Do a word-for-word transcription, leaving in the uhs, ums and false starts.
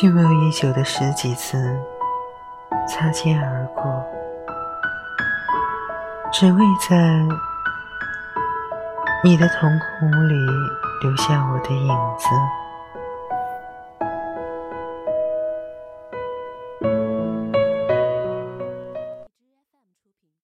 蓄谋已久的十几次擦肩而过，只为在你的瞳孔里留下我的影子。